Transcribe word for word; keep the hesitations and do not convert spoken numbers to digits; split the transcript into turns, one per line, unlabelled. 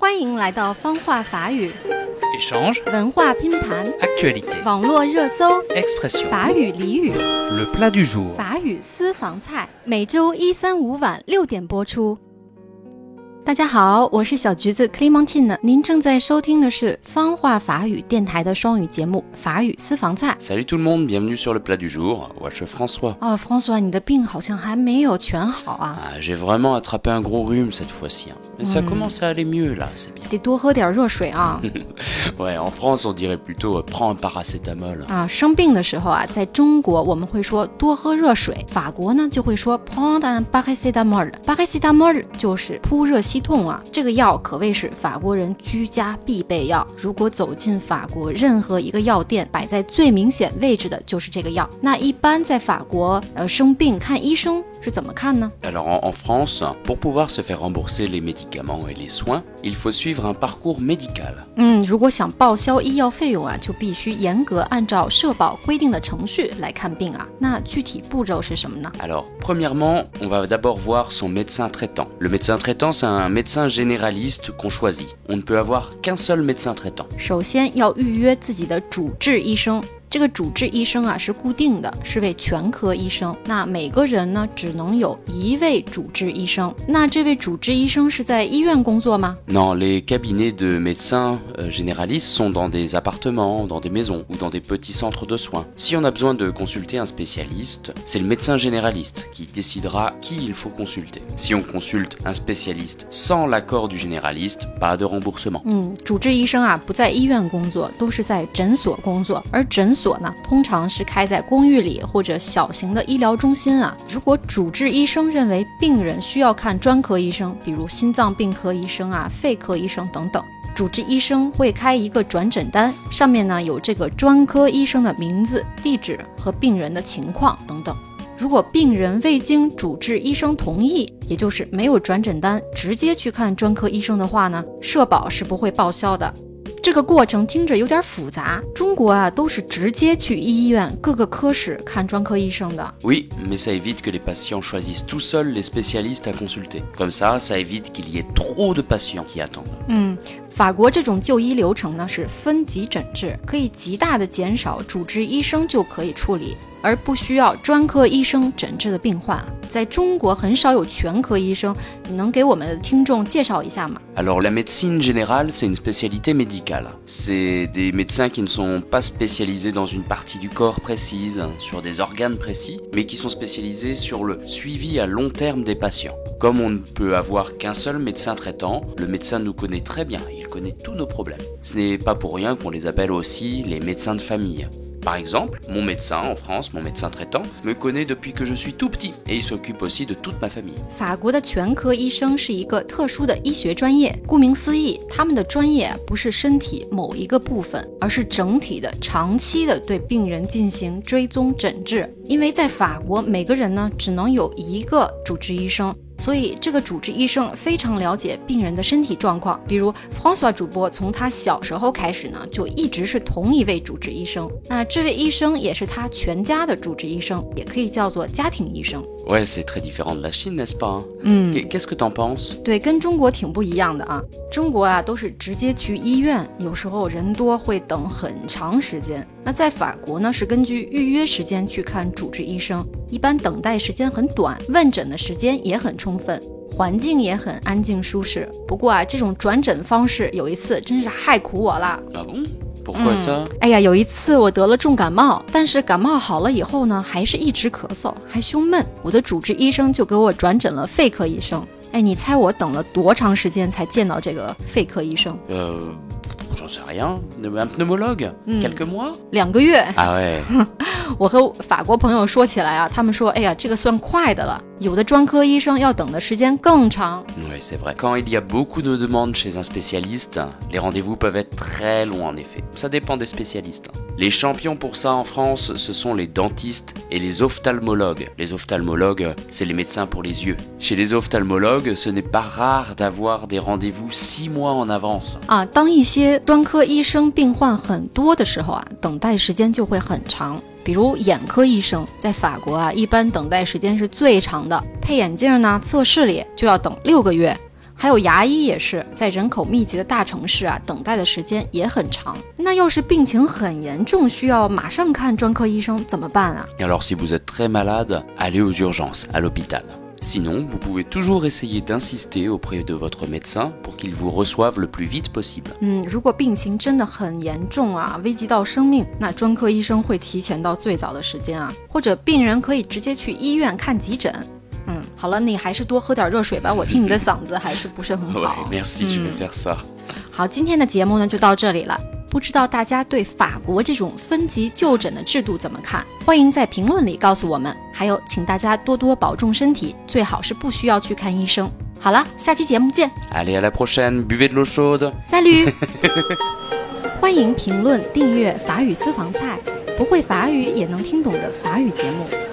欢迎来到方话法语
Échange,
文化拼盘
actualité,
网络热搜
expression,
法语俚语
le plat du jour.
法语私房菜，每周一三五晚六点播出。大家好，我是小橘子 Clémentine， 您正在收听的是方话法语电台的双语节目法语私房菜。
Salut tout le monde, bienvenue sur le plat du jour. Moi, je suis François.
哦 François， 你的病好像还没有全好啊。
Ah, j'ai vraiment attrapé un gros rhume cette fois-ci. Hein. Mais ça commence à aller mieux là, c'est bien.
得多喝点热水啊。
Ouais, en France, on dirait plutôt euh, prends un paracétamol.
啊，生病的时候啊，在中国我们会说多喝热水，法国呢就会说 prendre un paracétamol。paracétamol 就是扑热息痛啊，这个药可谓是法国人居家必备药。如果走进法国任何一个药店，摆在最明显位置的就是这个药。那一般在法国，呃，生病看医生是怎么看呢？
Alors en, en France, pour pouvoir se faire rembourser les médicaments et les soins, il faut suivre un parcours médical.
嗯，如果想报销医药费用啊，就必须严格按照社保规定的程序来看病啊。那具体步骤是什么呢？
Alors, premièrement, on va d'abord voir son médecin traitant. Le médecin traitant, c'est un médecin généraliste qu'on choisit. On ne peut avoir qu'un seul médecin traitant.
首先要预约自己的主治医生。这个主治医生啊是固定的，是位全科医生。那每个人呢只能有一位主治医生。那这位主治医生是在医院工作吗？
Non, les cabinets de médecins euh, généralistes sont dans des appartements, dans des maisons ou dans des petits centres de soins. Si on a besoin de consulter un spécialiste, c'est le médecin généraliste qui décidera qui il faut consulter. Si on consulte un spécialiste sans l'accord du généraliste, pas de remboursement.
嗯，主治医生啊不在医院工作，都是在诊所工作，而诊所呢通常是开在公寓里或者小型的医疗中心啊。如果主治医生认为病人需要看专科医生，比如心脏病科医生啊、肺科医生等等，主治医生会开一个转诊单，上面呢有这个专科医生的名字、地址和病人的情况等等。如果病人未经主治医生同意，也就是没有转诊单，直接去看专科医生的话呢，社保是不会报销的。这个过程听着有点复杂，中国啊都是直接去医院各个科室看专科医生的。
Oui, mais ça évite que les patients choisissent tout seuls les spécialistes à consulter. Comme ça, ça évite qu'il y ait trop de patients qui attendent.
嗯，法国这种就医流程呢是分级诊治，可以极大的减少主治医生就可以处理，而不需要专科医生诊治的病患。在中国很少有全科医生，你能给我们的听众介绍一下吗？
Alors la médecine générale, c'est une spécialité médicale. C'est des médecins qui ne sont pas spécialisés dans une partie du corps précise, sur des organes précis, mais qui sont spécialisés sur le suivi à long terme des patients. Comme on ne peut avoir qu'un seul médecin traitant, le médecin nous connaît très bien, il connaît tous nos problèmes. Ce n'est pas pour rien qu'on les appelle aussi les médecins de famille. Par exemple, mon médecin en France, mon médecin traitant, me connaît depuis que je suis tout petit et il s'occupe aussi de toute ma famille.
法国的全科医生是一个特殊的医学专业，顾名思义，他们的专业不是身体某一个部分，而是整体的、长期的对病人进行追踪诊治。因为在法国，每个人呢只能有一个主治医生。所以这个主治医生非常了解病人的身体状况，比如 François 主播从他小时候开始呢，就一直是同一位主治医生。那这位医生也是他全家的主治医生，也可以叫做家庭医生。
Ouais, c'est très différent de la Chine, n'est-ce pas?
嗯，
Qu'est-ce que t'en penses?
对，跟中国挺不一样的啊。中国啊都是直接去医院，有时候人多会等很长时间。那在法国呢，是根据预约时间去看主治医生，一般等待时间很短，问诊的时间也很充分，环境也很安静舒适。不过啊，这种转诊方式有一次真是害苦我了。
Ah bon? Pourquoi ça?
哎呀，有一次我得了重感冒，但是感冒好了以后呢，还是一直咳嗽，还胸闷。我的主治医生就给我转诊了肺科医生。哎，你猜我等了多长时间才见到这个肺科医生？
Euh... J'en sais rien. Un pneumologue?
Mm.
Quelques mois?
两个月。
Ah ouais.
我和法国朋友说起来啊，他们说，哎呀，这个算快的了。有的专科医生要等的时间更长。
Oui, c'est vrai. Quand il y a beaucoup de demandes chez un spécialiste, les rendez-vous peuvent être très longs en effet. Ça dépend des spécialistes. Les champions pour ça en France, ce sont les dentistes et les ophtalmologues. Les ophtalmologues, c'est les médecins pour les yeux. Chez les ophtalmologues, ce n'est pas rare d'avoir des rendez-vous six mois en avance.
啊，当一些专科医生病患很多的时候啊，等待时间就会很长。比如眼科医生，在法国啊，一般等待时间是最长的，配眼镜呢，测视力就要等六个月。 还有牙医也是，在人口密集的大城市啊，等待的时间也很长。那要是病情很严重，需要马上看专科医生怎么办啊？
Alors si vous êtes très malade, allez aux urgences, à l'hôpital.Sinon, vous pouvez toujours essayer d'insister auprès de votre médecin pour qu'il vous reçoive le plus vite possible.
嗯，如果病情真的很严重啊，危及到生命，那专科医生会提前到最早的时间啊，或者病人可以直接去医院看急诊。嗯，好了，你还是多喝点热水吧，我听你的嗓子还是不是很好。
Ouais, merci, je vais faire ça.
好，今天的节目呢就到这里了。不知道大家对法国这种分级就诊的制度怎么看？欢迎在评论里告诉我们。还有，请大家多多保重身体，最好是不需要去看医生。好了，下期节目见。
Allez, à la prochaine, buvez de l'eau chaude.
Salut 欢迎评论、订阅法语私房菜，不会法语也能听懂的法语节目。